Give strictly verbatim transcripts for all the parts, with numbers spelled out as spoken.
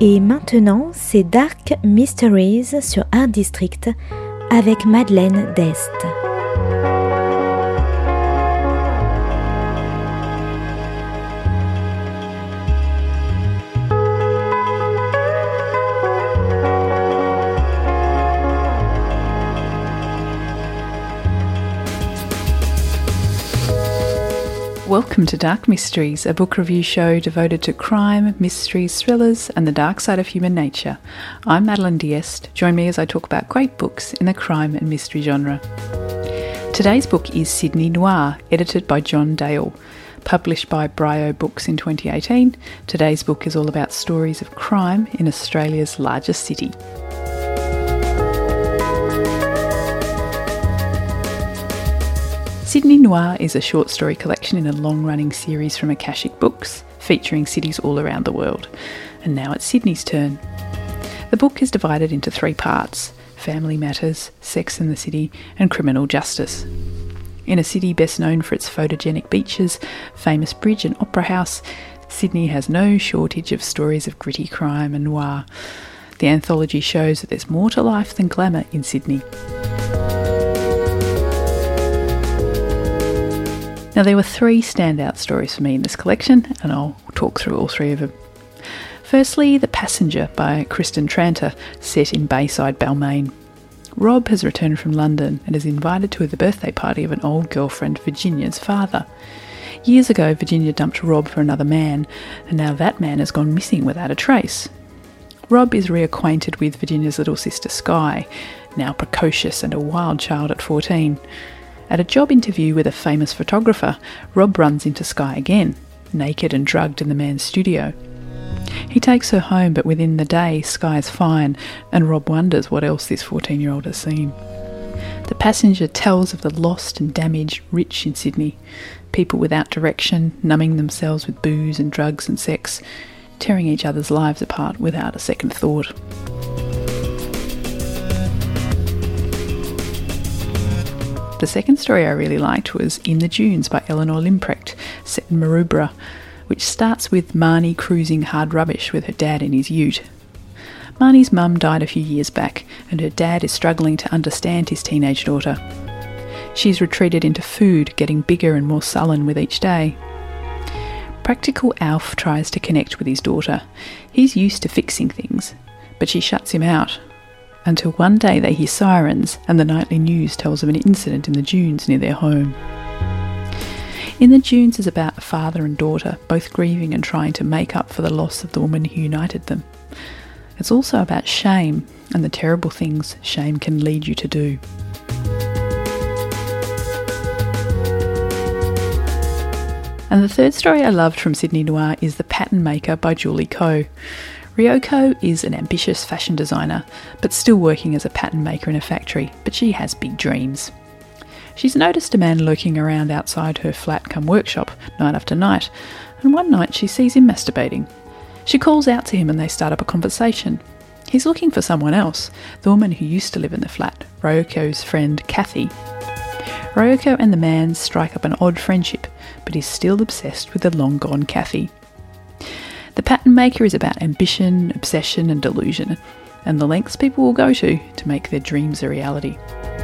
Et maintenant, c'est Dark Mysteries sur Art District avec Madeleine Dest. Welcome to Dark Mysteries, a book review show devoted to crime, mysteries, thrillers and the dark side of human nature. I'm Madeleine D'Este. Join me as I talk about great books in the crime and mystery genre. Today's book is Sydney Noir, edited by John Dale. Published by Brio Books in twenty eighteen, today's book is all about stories of crime in Australia's largest city. Sydney Noir is a short story collection in a long-running series from Akashic Books, featuring cities all around the world. And now it's Sydney's turn. The book is divided into three parts: family matters, sex in the city, and criminal justice. In a city best known for its photogenic beaches, famous bridge and opera house, Sydney has no shortage of stories of gritty crime and noir. The anthology shows that there's more to life than glamour in Sydney. Now, there were three standout stories for me in this collection, and I'll talk through all three of them. Firstly, The Passenger by Kristen Tranter, set in Bayside, Balmain. Rob has returned from London and is invited to the birthday party of an old girlfriend, Virginia's father. Years ago, Virginia dumped Rob for another man, and now that man has gone missing without a trace. Rob is reacquainted with Virginia's little sister, Sky, now precocious and a wild child at fourteen. At a job interview with a famous photographer, Rob runs into Sky again, naked and drugged in the man's studio. He takes her home, but within the day, Sky is fine, and Rob wonders what else this fourteen-year-old has seen. The Passenger tells of the lost and damaged rich in Sydney, people without direction, numbing themselves with booze and drugs and sex, tearing each other's lives apart without a second thought. The second story I really liked was In the Dunes by Eleanor Limprecht, set in Maroubra, which starts with Marnie cruising hard rubbish with her dad in his ute. Marnie's mum died a few years back, and her dad is struggling to understand his teenage daughter. She's retreated into food, getting bigger and more sullen with each day. Practical Alf tries to connect with his daughter. He's used to fixing things, but she shuts him out. Until one day they hear sirens and the nightly news tells of an incident in the dunes near their home. In the Dunes is about a father and daughter, both grieving and trying to make up for the loss of the woman who united them. It's also about shame and the terrible things shame can lead you to do. And the third story I loved from Sydney Noir is The Pattern Maker by Julie Koh. Ryoko is an ambitious fashion designer, but still working as a pattern maker in a factory, but she has big dreams. She's noticed a man lurking around outside her flat cum workshop night after night, and one night she sees him masturbating. She calls out to him and they start up a conversation. He's looking for someone else, the woman who used to live in the flat, Ryoko's friend Kathy. Ryoko and the man strike up an odd friendship, but he's still obsessed with the long-gone Kathy. The Pattern Maker is about ambition, obsession and delusion, and the lengths people will go to to make their dreams a reality.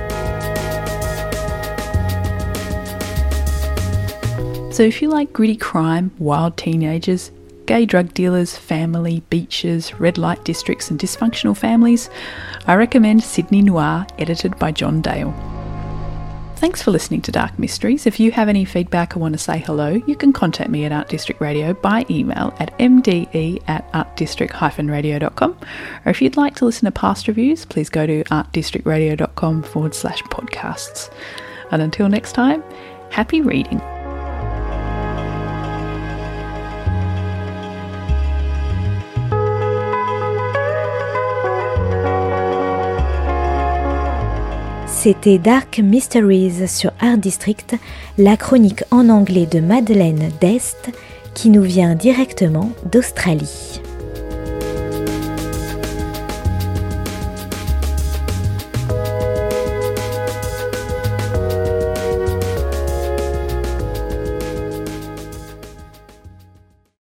So if you like gritty crime, wild teenagers, gay drug dealers, family, beaches, red light districts and dysfunctional families, I recommend Sydney Noir, edited by John Dale. Thanks for listening to Dark Mysteries. If you have any feedback or want to say hello, you can contact me at Art District Radio by email at m d e at artdistrict dash radio dot com. Or if you'd like to listen to past reviews, please go to artdistrictradio.com forward slash podcasts. And until next time, happy reading. C'était Dark Mysteries sur Art District, la chronique en anglais de Madeleine Dest qui nous vient directement d'Australie.